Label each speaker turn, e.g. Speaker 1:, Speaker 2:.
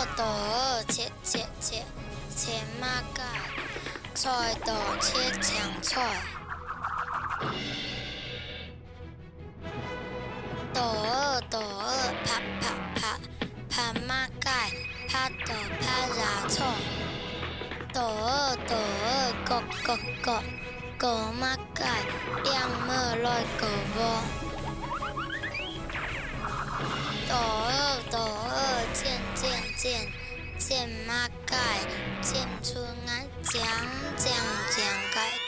Speaker 1: 倒二切切切切马盖，菜倒切强菜。倒二拍拍拍拍马盖，拍倒拍牙菜。倒二割马盖，养么来割无。倒二剪马盖，剪出爱酱盖。